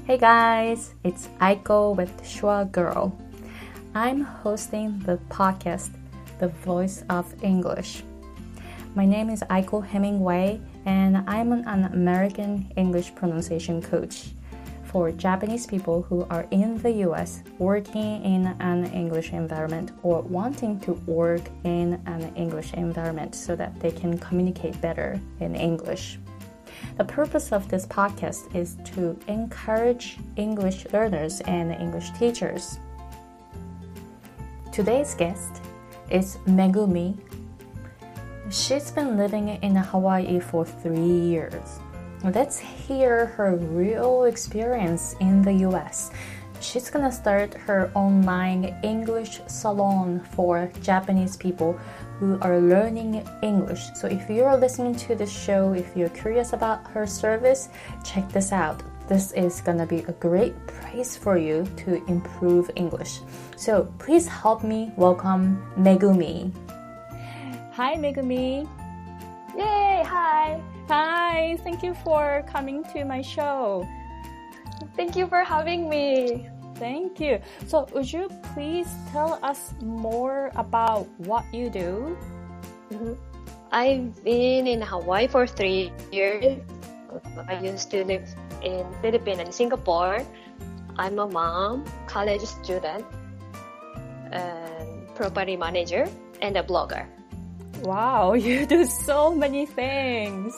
Hey guys, it's Aiko with Shua Girl. I'm hosting the podcast, The Voice of English. My name is Aiko Hemingway, and I'm an American English pronunciation coach for Japanese people who are in the US working in an English environment or wanting to work in an English environment so that they can communicate better in English. The purpose of this podcast is to encourage English learners and English teachers. Today's guest is Megumi. She's been living in Hawaii for 3 years. Let's hear her real experience in the US. She's gonna start her online English salon for Japanese people who are learning English. So if you're listening to this show, if you're curious about her service, check this out. This is gonna be a great place for you to improve English. So please help me welcome Megumi. Hi, Megumi. Yay! Hi! Hi, thank you for coming to my show. Thank you for having me. Thank you. So would you please tell us more about what you do? I've been in Hawaii for 3 years. I used to live in Philippines and Singapore. I'm a mom, college student, and property manager, and a blogger. Wow, you do so many things.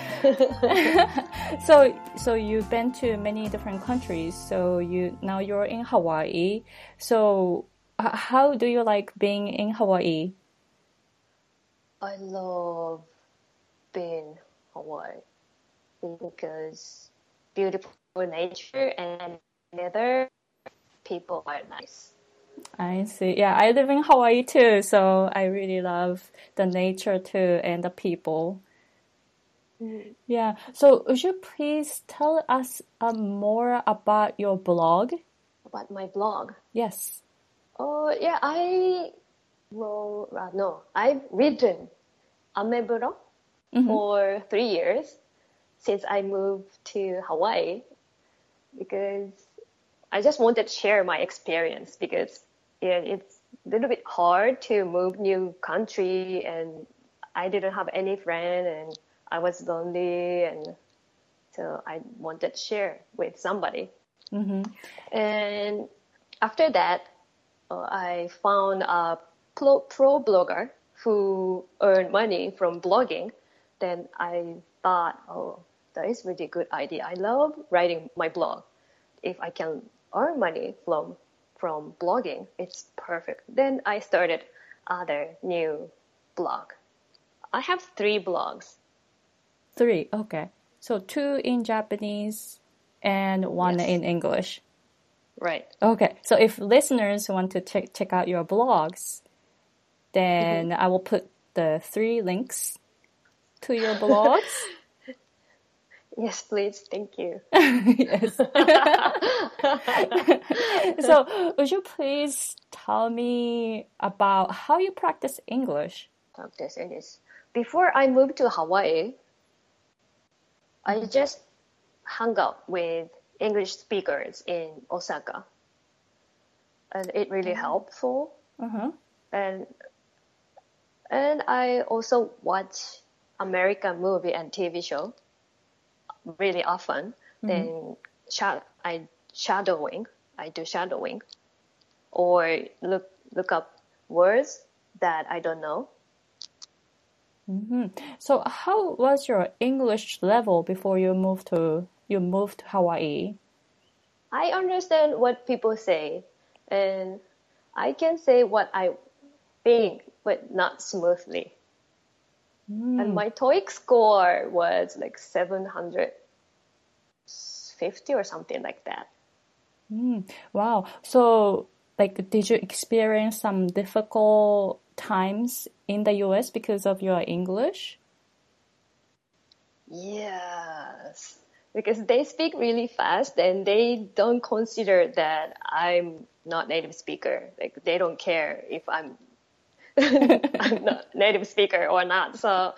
So you've been to many different countries. So now you're in Hawaii. So how do you like being in Hawaii? I love being in Hawaii because beautiful nature and weather, people are nice. I see. Yeah, I live in Hawaii too, so I really love the nature too and the people. Yeah. So would you please tell us more about your blog? About my blog? Yes. Oh, yeah, I've written Ameburo for 3 years since I moved to Hawaii because I just wanted to share my experience because it's a little bit hard to move new country and I didn't have any friend and I was lonely and so I wanted to share with somebody. And after that, I found a pro blogger who earned money from blogging. Then I thought, that is really good idea. I love writing my blog. If I can earn money from blogging, it's perfect. Then I started other new blog. I have 3 blogs. 3, okay. So 2 in Japanese and 1 in English. Right. Okay. So if listeners want to check out your blogs, then I will put the 3 links to your blogs. Yes, please. Thank you. Yes. So would you please tell me about how you practice English? Practice English. Before I moved to Hawaii, I just hung out with English speakers in Osaka. And it really helpful. And I also watch American movie and TV show really often. Then I do shadowing or look up words that I don't know. So how was your English level before you moved to Hawaii? I understand what people say and I can say what I think, but not smoothly. And my TOEIC score was like 750 or something like that. Wow. So, did you experience some difficult times in the US because of your English? Yes. Because they speak really fast and they don't consider that I'm not native speaker. Like they don't care if I'm not native speaker or not. So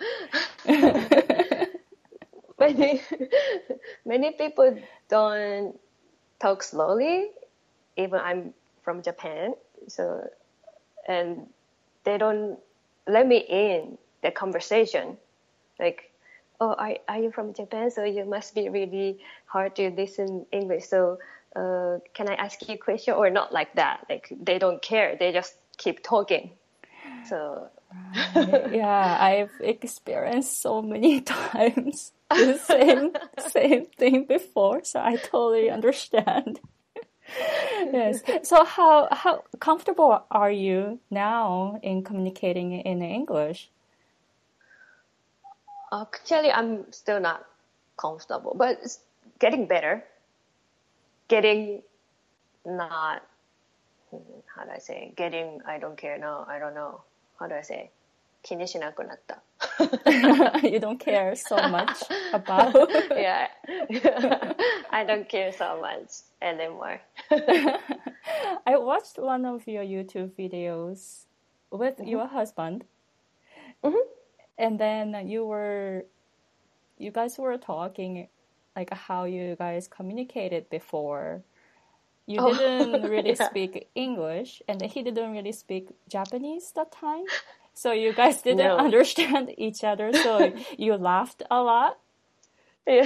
many people don't talk slowly, even I'm from Japan. So, and they don't let me in the conversation. Like, oh, are you from Japan? So you must be really hard to listen English. So, can I ask you a question or not like that? Like, they don't care. They just keep talking. So, yeah, I've experienced so many times the same thing before, so I totally understand. Yes. So how comfortable are you now in communicating in English? actually, I'm still not comfortable, but it's getting better. Getting not, how do I say? Getting, I don't care. No, I don't know. How do I say? 気にしなくなった. You don't care so much about. Yeah. I don't care so much anymore. I watched one of your YouTube videos with your husband. And then you guys were talking like how you guys communicated before. You didn't really speak English, and he didn't really speak Japanese that time. So you guys didn't understand each other, so you laughed a lot. Yeah.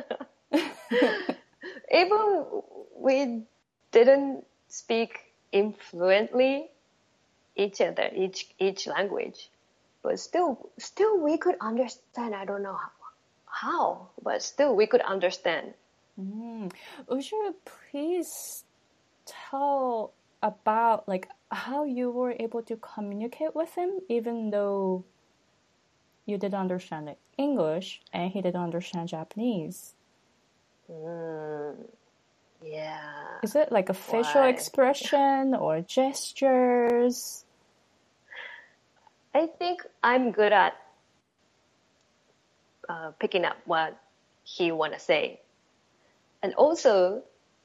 Even we didn't speak influently each other, each language. But still we could understand. I don't know how, but still we could understand. Would you please tell about like how you were able to communicate with him even though you didn't understand English and he didn't understand Japanese? Yeah. Is it like a facial expression or gestures? I think I'm good at picking up what he want to say. And also,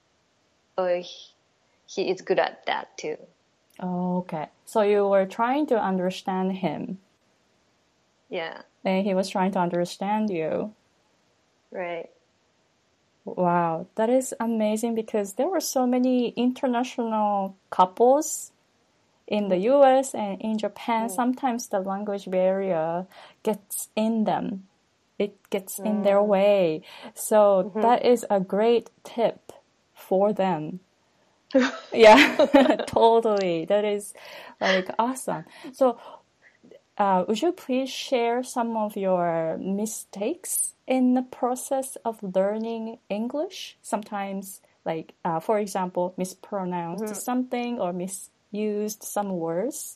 he is good at that too. Oh, okay. So you were trying to understand him. Yeah. And he was trying to understand you. Right. Wow, that is amazing because there were so many international couples in the US and in Japan. Sometimes the language barrier gets in them. It gets in their way. So that is a great tip for them. Yeah, totally. That is like awesome. So would you please share some of your mistakes in the process of learning English? Sometimes, like, for example, mispronounced something or misused some words?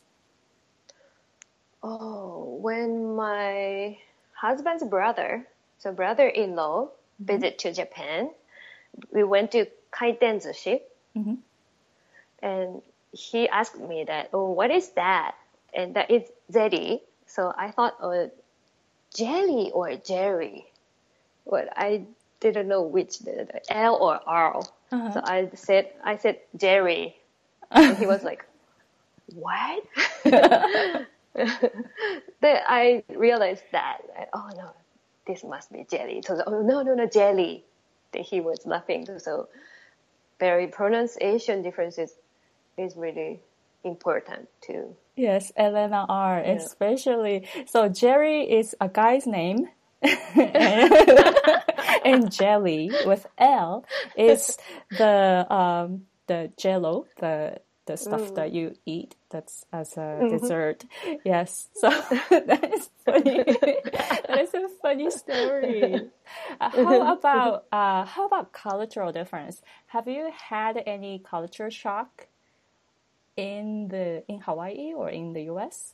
Oh, when my husband's brother-in-law, visit to Japan, we went to kaiten sushi, and he asked me that, oh, what is that? And that is zeri. So I thought, jelly or jerry. But I didn't know which, the L or R. So I said jerry. And he was like, what? Then I realized that, oh no, this must be jelly. So, oh no, jelly. Then he was laughing. So very pronunciation differences is really important too. Yes, Elena R. Especially. So Jerry is a guy's name. And jelly with L is the jello, the stuff that you eat that's as a dessert. Yes, so that is funny. That is a funny story. How about cultural difference? Have you had any culture shock in Hawaii or in the US?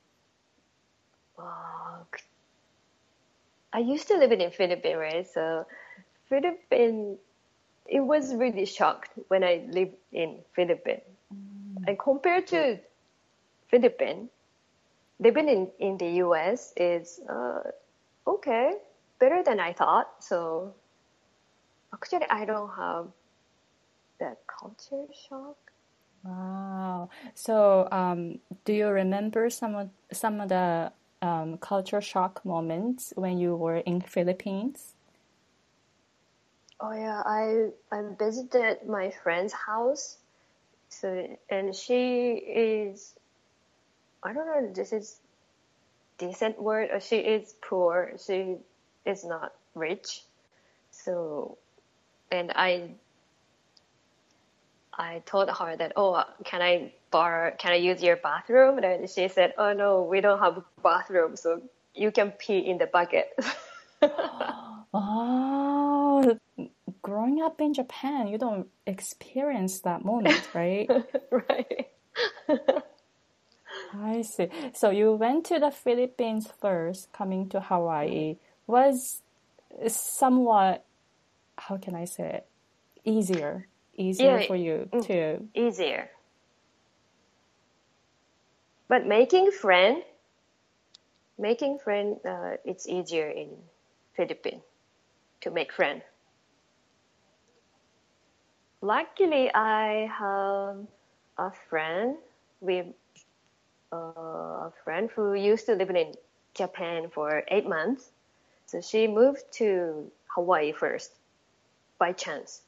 I used to live in Philippines, right? So Philippines, it was really shocked when I lived in Philippines. And compared to Philippines, living in the US is okay, better than I thought. So actually, I don't have that culture shock. Wow. So, do you remember some of the culture shock moments when you were in Philippines? Oh yeah, I visited my friend's house. So and she is, I don't know if this is decent word, or she is poor. She is not rich. So and I told her that, oh, can I use your bathroom? And she said, oh no, we don't have a bathroom, so you can pee in the bucket. Oh, growing up in Japan, you don't experience that moment, right? Right. I see. So you went to the Philippines first, coming to Hawaii. Was somewhat, how can I say it, easier Yeah, for you to. easier. But making friend, it's easier in Philippines to make friend. Luckily, I have a friend with a friend who used to live in Japan for 8 months. So she moved to Hawaii first by chance.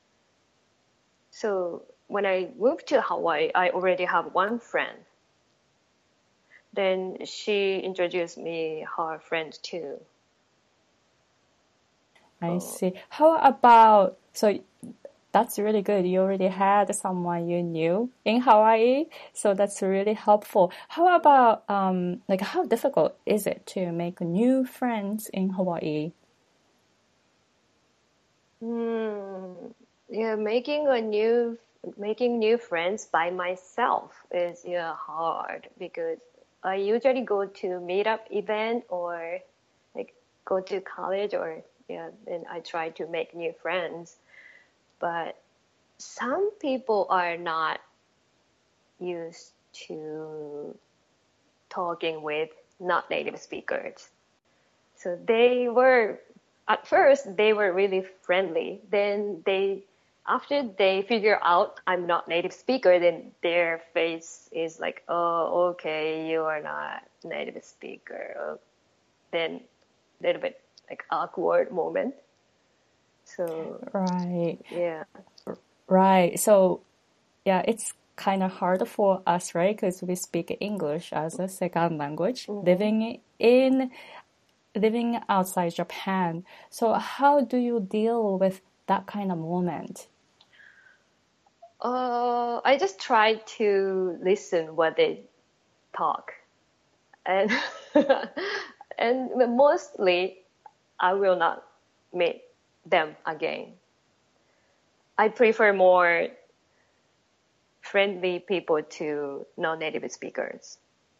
So when I moved to Hawaii, I already have one friend. Then she introduced me her friend too. I see. How about, so that's really good. You already had someone you knew in Hawaii, so that's really helpful. How about, like, how difficult is it to make new friends in Hawaii? Yeah, making new friends by myself is, yeah, hard because I usually go to meetup event or like go to college, or yeah, then I try to make new friends. But some people are not used to talking with not native speakers. So at first, they were really friendly. Then after they figure out I'm not native speaker, then their face is like, oh, okay, you are not native speaker. Then a little bit like awkward moment. So, Right, yeah. right. So, yeah, it's kind of hard for us, right? Because we speak English as a second language, living outside Japan. So how do you deal with that kind of moment? I just try to listen what they talk, and and mostly I will not meet them again. I prefer more friendly people to non-native speakers.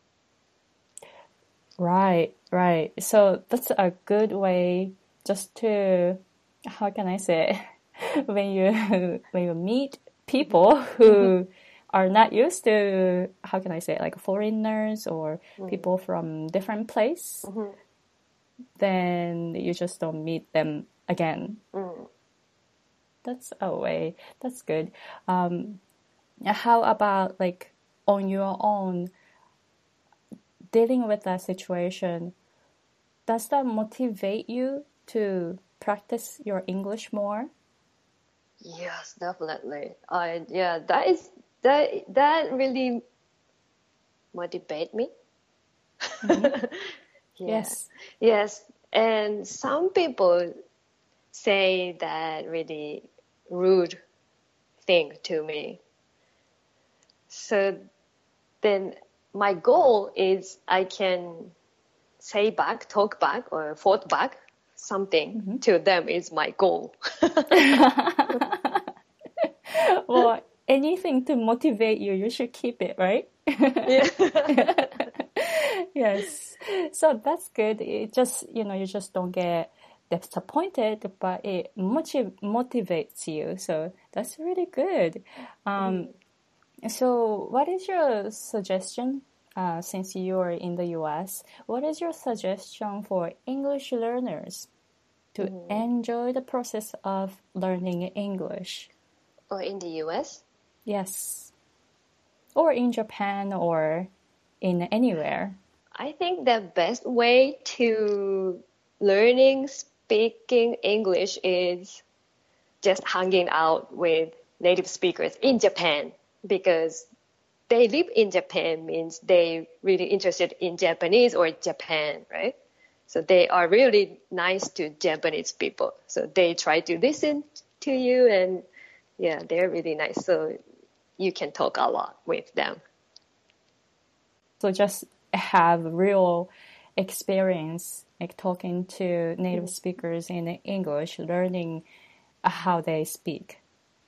Right, right. So that's a good way just to, how can I say it? When you meet people who are not used to, how can I say it, like foreigners or people from different place, then you just don't meet them again. That's a way. That's good. How about like on your own, dealing with that situation? Does that motivate you to practice your English more? Yes, definitely. Yeah, that really motivate me. Yeah. Yes. Yes, and some people say that really rude thing to me. So then my goal is I can say back, talk back, or thought back something to them is my goal. Well, anything to motivate you, you should keep it, right? Yeah. Yes. So that's good. It just, you just don't get disappointed, but it motivates you. So that's really good. So what is your suggestion, since you're in the US, what is your suggestion for English learners to enjoy the process of learning English? Or in the US? Yes. Or in Japan or in anywhere. I think the best way to learning speaking English is just hanging out with native speakers in Japan, because they live in Japan means they really interested in Japanese or Japan, right? So they are really nice to Japanese people. So they try to listen to you, and yeah, they're really nice. So you can talk a lot with them. So just have real experience like talking to native speakers in English, learning how they speak.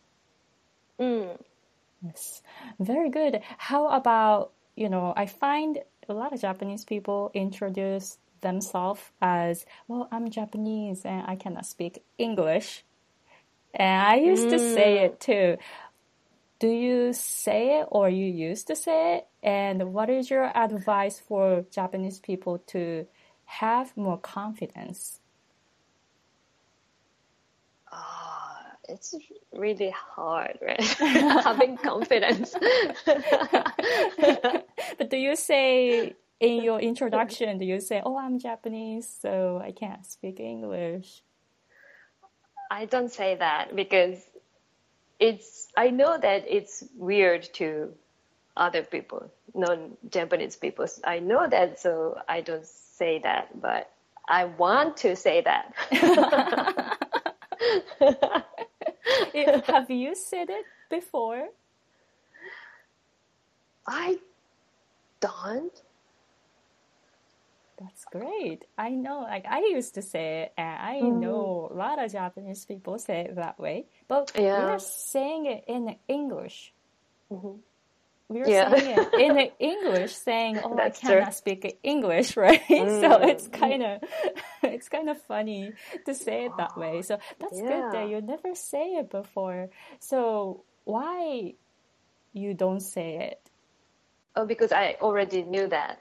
Yes, very good. How about, I find a lot of Japanese people introduce themselves as, well, I'm Japanese and I cannot speak English. And I used to say it too. Do you say it or you used to say it? And what is your advice for Japanese people to have more confidence? It's really hard, right? Having confidence. But do you say in your introduction, do you say, oh, I'm Japanese, so I can't speak English? I don't say that because I know that it's weird to other people, non-Japanese people. I know that, so I don't say that, but I want to say that. Have you said it before? I don't. That's great. I know, like I used to say it, and I know a lot of Japanese people say it that way. But we're saying it in English. We're saying it in English, saying, "Oh, I cannot speak English," right? So it's kind of funny to say it that way. So that's good that you never say it before. So why you don't say it? Oh, because I already knew that.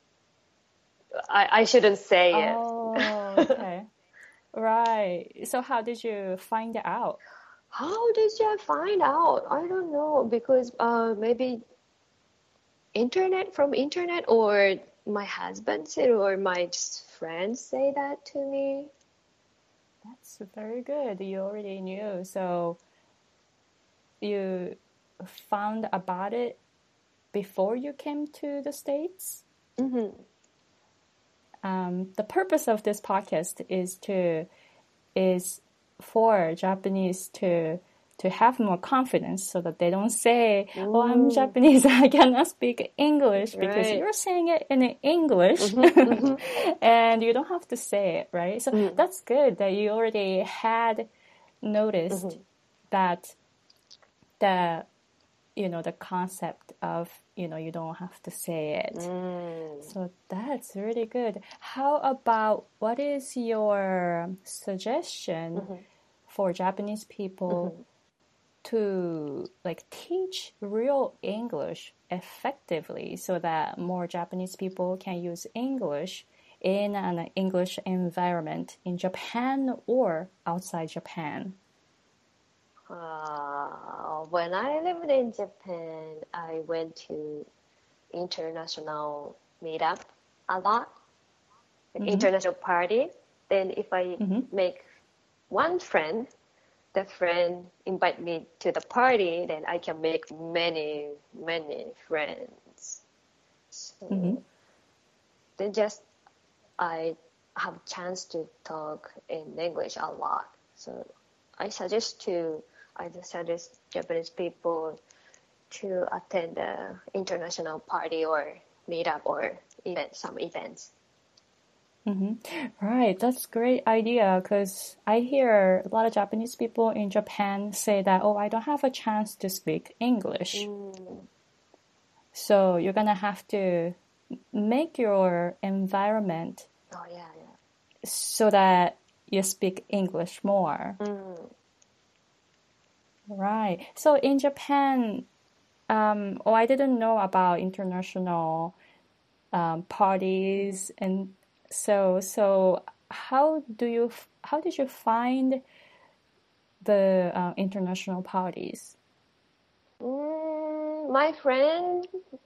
I shouldn't say it. Oh, okay. Right. So how did you find out? How did you find out? I don't know, because maybe from internet, or my husband said, or my friends say that to me. That's very good. You already knew. So you found about it before you came to the States? The purpose of this podcast is for Japanese to have more confidence, so that they don't say, "Oh, I'm Japanese, I cannot speak English," because you're saying it in English, and you don't have to say it, right? So that's good that you already had noticed that the concept of, you don't have to say it. So that's really good. How about, what is your suggestion for Japanese people to teach real English effectively, so that more Japanese people can use English in an English environment in Japan or outside Japan? When I lived in Japan, I went to international meetup a lot, international party. Then if I make one friend, the friend invite me to the party, then I can make many, many friends. So then I have a chance to talk in English a lot. So I suggest Japanese people to attend the international party or meetup or some events. Right, that's a great idea, because I hear a lot of Japanese people in Japan say that, oh, I don't have a chance to speak English. So you're gonna have to make your environment so that you speak English more. Right. So in Japan, I didn't know about international parties, and so how did you find the international parties? My friend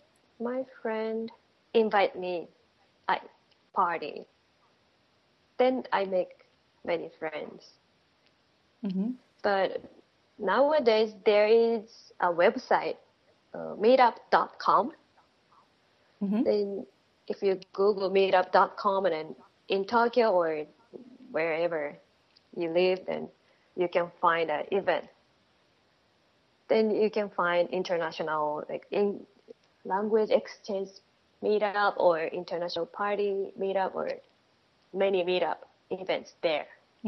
invite me at party. Then I make many friends. But nowadays there is a website, meetup.com. Then if you Google meetup.com and then in Tokyo or wherever you live, then you can find an event. Then you can find international like in language exchange meetup or international party meetup or many meetup events there.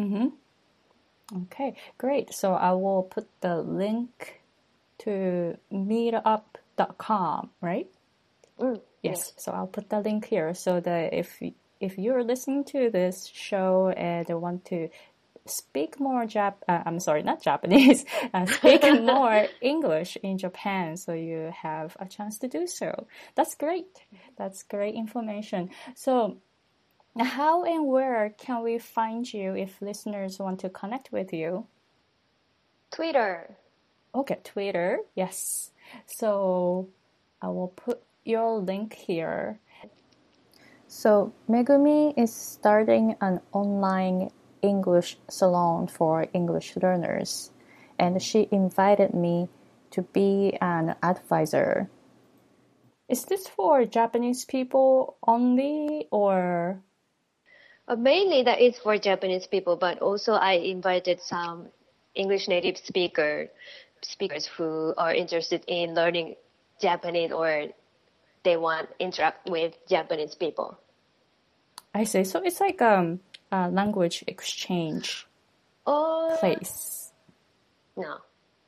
Okay, great. So I will put the link to meetup.com, right? Yes. So I'll put the link here so that if you're listening to this show and want to speak more not Japanese, speak more English in Japan, so you have a chance to do so. That's great. That's great information. So how and where can we find you if listeners want to connect with you? Twitter. Okay, Twitter. Yes. So I will put your link here. So Megumi is starting an online English salon for English learners, and she invited me to be an advisor. Is this for Japanese people only, or? Mainly that is for Japanese people, but also I invited some English native speakers who are interested in learning Japanese or they want to interact with Japanese people. I see. So it's like a language exchange place. No.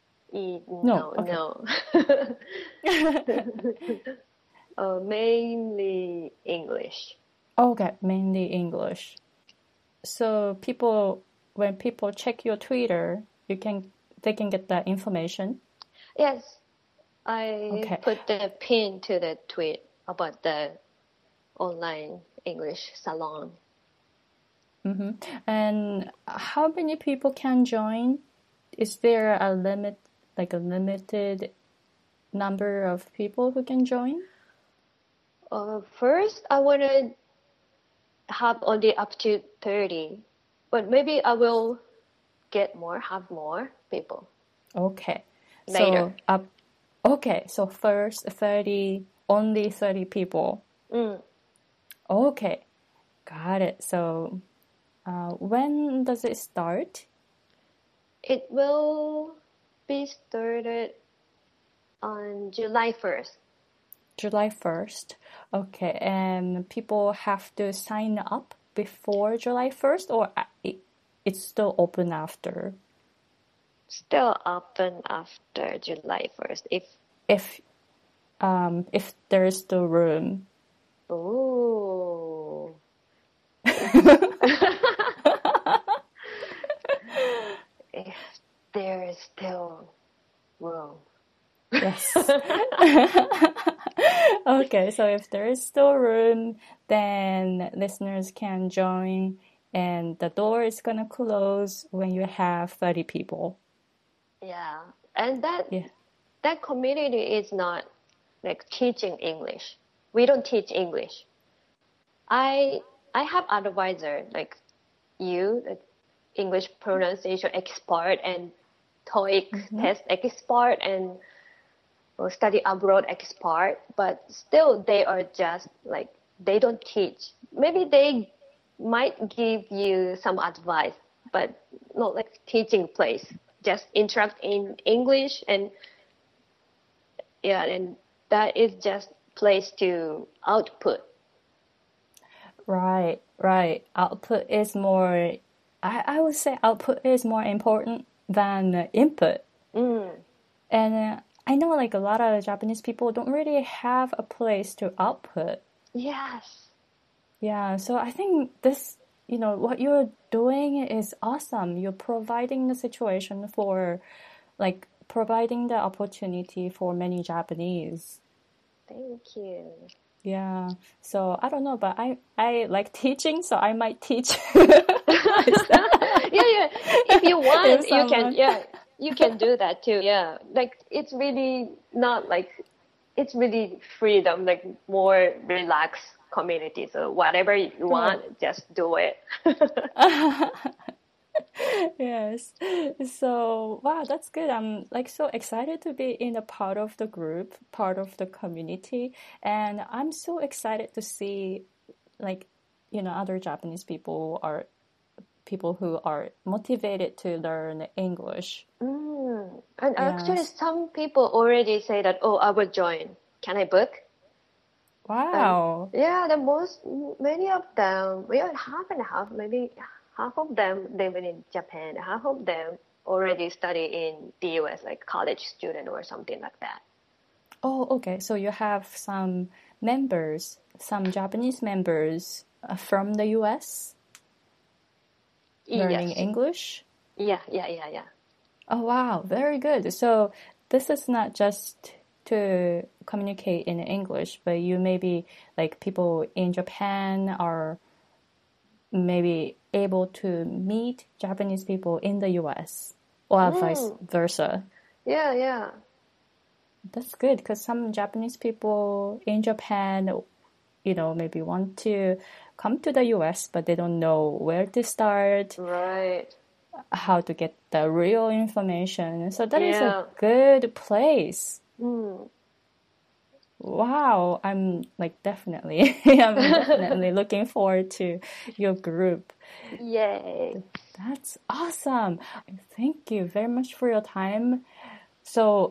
No. Mainly English. Okay, mainly English. So when people check your Twitter, they can get that information. Yes, I put the pin to the tweet about the online English salon. And how many people can join? Is there a limited number of people who can join? First, I want to have only up to 30, but maybe I will have more people. Okay. Later. So first 30, only 30 people. Okay. Got it. So when does it start? It will be started on July 1st. July 1st. Okay. And people have to sign up before July 1st, or it's still open after? Still open after July 1st. If there is still room. Ooh. If there is still room. Yes. Okay, so if there is still room, then listeners can join, and the door is gonna close when you have 30 people. Yeah, and that community is not like teaching English. We don't teach English. I have advisor like you, the English pronunciation expert and TOEIC test expert and study abroad expert, but still they are just like, they don't teach. Maybe they might give you some advice, but not like teaching place. Just interact in English and that is just place to output. Right. Output is more, I would say output is more important than input. And I know like a lot of Japanese people don't really have a place to output. Yes. Yeah, so I think this, what you're doing is awesome. You're providing the situation for, like, providing the opportunity for many Japanese. Thank you. Yeah, so I don't know, but I like teaching, so I might teach. Yeah. If you want, you can. Yeah, you can do that too. Yeah, like it's really not like, it's really freedom, like more relaxed community. So whatever you want, just do it. Yes. So, wow, that's good. I'm like so excited to be in a part of the group, part of the community. And I'm so excited to see like, other Japanese people are people who are motivated to learn English. And actually, Yes. some people already say that, oh, I will join. Can I book? Wow. Yeah, many of them, half and half, maybe half of them living in Japan, half of them already study in the US, like college student or something like that. Oh, okay. So you have some members, some Japanese members from the US learning Yes. English? Yeah. Oh, wow. Very good. So this is not just to communicate in English, but you maybe like people in Japan are maybe able to meet Japanese people in the US or vice versa. Yeah. That's good because some Japanese people in Japan, maybe want to come to the US, but they don't know where to start, Right. how to get the real information. So that is a good place. Wow, I'm definitely looking forward to your group. Yay. That's awesome. Thank you very much for your time. So,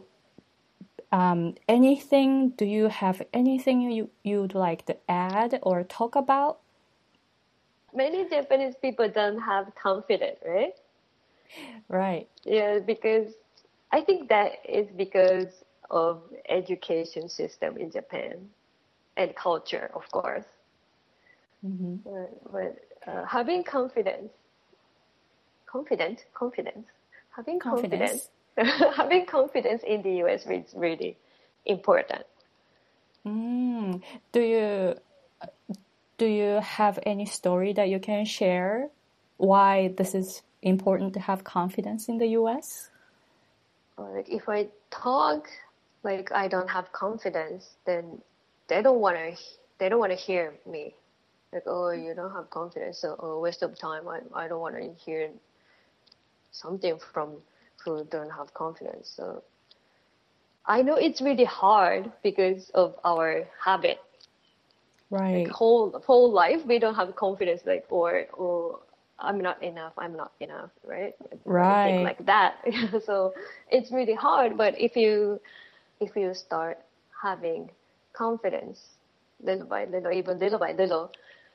do you have anything you'd like to add or talk about? Many Japanese people don't have confidence, right? Right. Yeah, because I think that is because of education system in Japan and culture, of course. Mm-hmm. But having confidence, having confidence in the US is really important. Do you have any story that you can share why this is important to have confidence in the US? Like if I talk like I don't have confidence, then they don't want to hear me. Like, oh, you don't have confidence, so waste of time. I don't want to hear something from who don't have confidence. So I know it's really hard because of our habit. Right. Like whole life we don't have confidence, like or I'm not enough, right? Right. Think like that. So it's really hard. But if you start having confidence little by little, even little by little,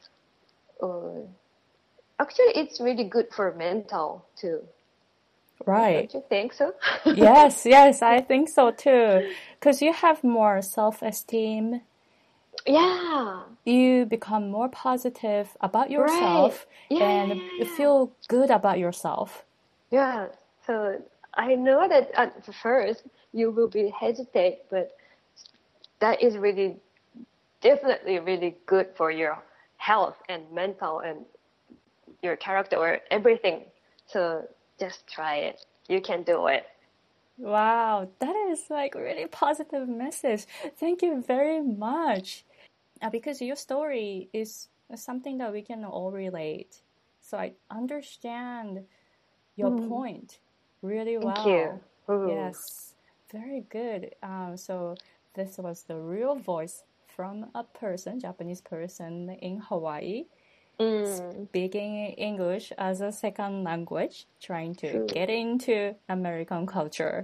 actually it's really good for mental too. Right. Don't you think so? Yes, I think so too. Because you have more self-esteem. Yeah. You become more positive about yourself and you feel good about yourself. Yeah. So I know that at first you will be hesitate, but that is definitely really good for your health and mental and your character or everything. So just try it. You can do it. Wow, that is like really positive message. Thank you very much. Because your story is something that we can all relate. So I understand your point really well. Thank you. Yes, very good. So this was the real voice from a Japanese person in Hawaii, speaking English as a second language, trying to get into American culture.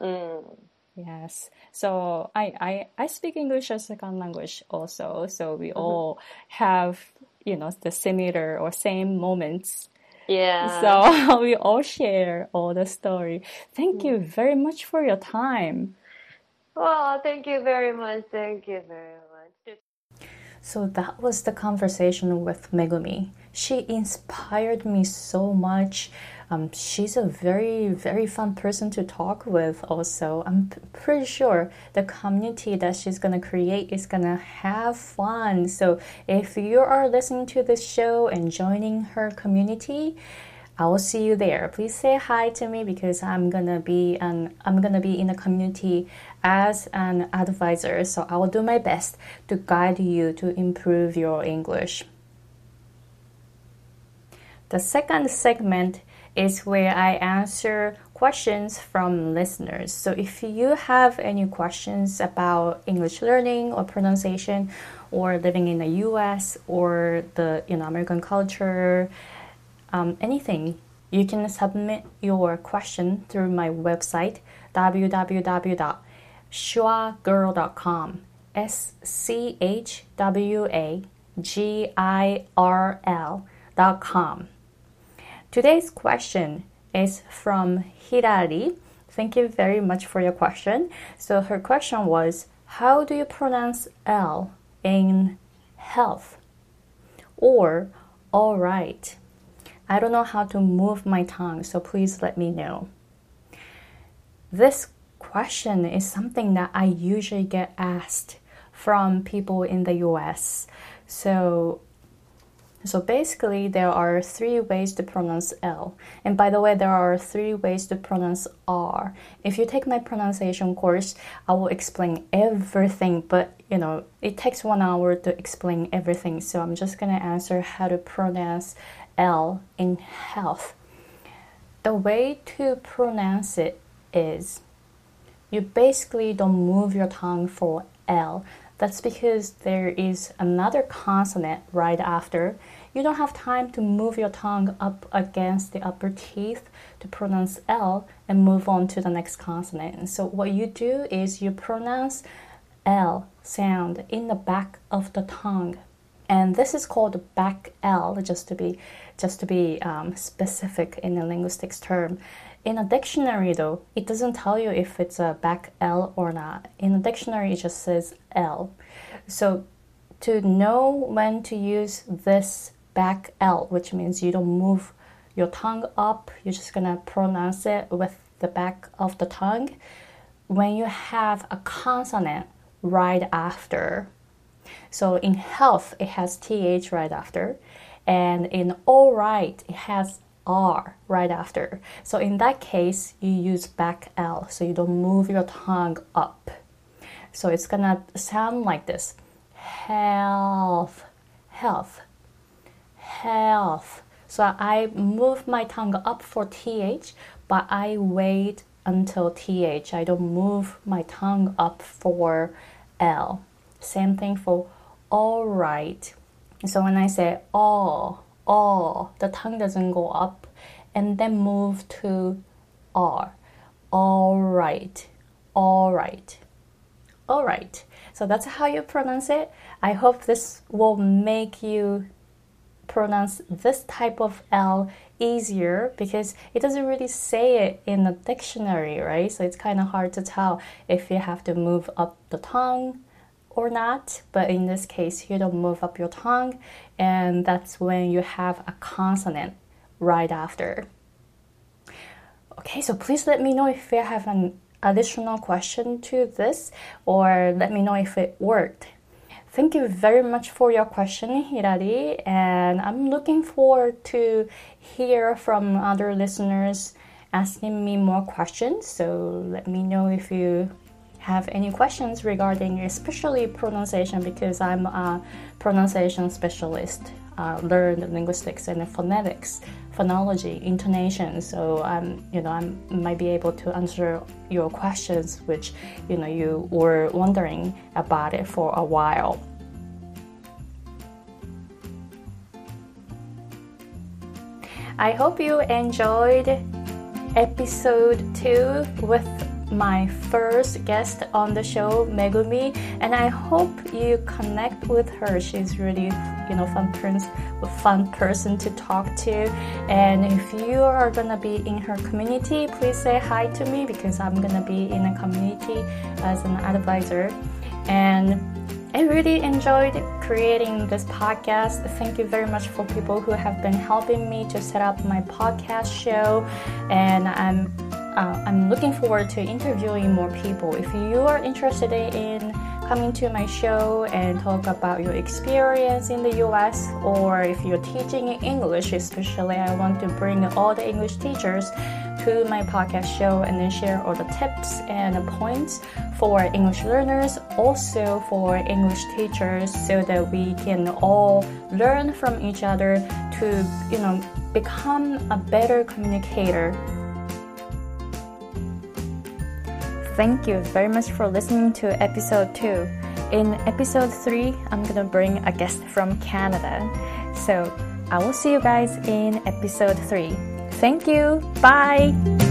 Yes. So I speak English as a second language also. So we all have, the similar or same moments. Yeah. So we all share all the story. Thank you very much for your time. Oh, thank you very much. Thank you very much. So that was the conversation with Megumi. She inspired me so much. She's a very, very fun person to talk with also. I'm pretty sure the community that she's going to create is going to have fun. So if you are listening to this show and joining her community, I will see you there. Please say hi to me because I'm gonna be in the community as an advisor. So I will do my best to guide you to improve your English. The second segment is where I answer questions from listeners. So if you have any questions about English learning or pronunciation or living in the US or the American culture, anything, you can submit your question through my website www.schwagirl.com schwagirl.com. Today's question is from Hirari. Thank you very much for your question. So her question was, how do you pronounce L in health? Or all right. I don't know how to move my tongue, so please let me know. This question is something that I usually get asked from people in the US. So basically, there are 3 ways to pronounce L. And by the way, there are 3 ways to pronounce R. If you take my pronunciation course, I will explain everything, but it takes 1 hour to explain everything. So I'm just going to answer how to pronounce L in health. The way to pronounce it is you basically don't move your tongue for L. That's because there is another consonant right after. You don't have time to move your tongue up against the upper teeth to pronounce L and move on to the next consonant. So what you do is you pronounce L sound in the back of the tongue. And this is called back L, just to be specific in a linguistics term. In a dictionary, though, it doesn't tell you if it's a back L or not. In a dictionary, it just says L. So to know when to use this back L, which means you don't move your tongue up, you're just going to pronounce it with the back of the tongue, when you have a consonant right after. So in health, it has TH right after. And in all right, it has R right after. So in that case, you use back L, so you don't move your tongue up. So it's gonna sound like this. Health, health, health. So I move my tongue up for TH, but I wait until TH. I don't move my tongue up for L. Same thing for all right. So when I say all, the tongue doesn't go up and then move to R. All right, all right, all right. So that's how you pronounce it. I hope this will make you pronounce this type of L easier because it doesn't really say it in the dictionary, right? So it's kind of hard to tell if you have to move up the tongue or not, but in this case, you don't move up your tongue, and that's when you have a consonant right after. Okay, so please let me know if you have an additional question to this, or let me know if it worked. Thank you very much for your question, Hirari, and I'm looking forward to hear from other listeners asking me more questions, so let me know if you have any questions regarding especially pronunciation, because I'm a pronunciation specialist, learned linguistics and phonetics, phonology, intonation. So I might be able to answer your questions, which you were wondering about it for a while. I hope you enjoyed episode 2 with my first guest on the show, Megumi, and I hope you connect with her. She's really, fun person to talk to. And if you are gonna be in her community, please say hi to me because I'm gonna be in a community as an advisor. And I really enjoyed creating this podcast. Thank you very much for people who have been helping me to set up my podcast show, and I'm looking forward to interviewing more people. If you are interested in coming to my show and talk about your experience in the US, or if you're teaching English, especially I want to bring all the English teachers to my podcast show and then share all the tips and points for English learners, also for English teachers, so that we can all learn from each other to, become a better communicator. Thank you very much for listening to episode 2. In episode 3, I'm gonna bring a guest from Canada. So I will see you guys in episode 3. Thank you. Bye.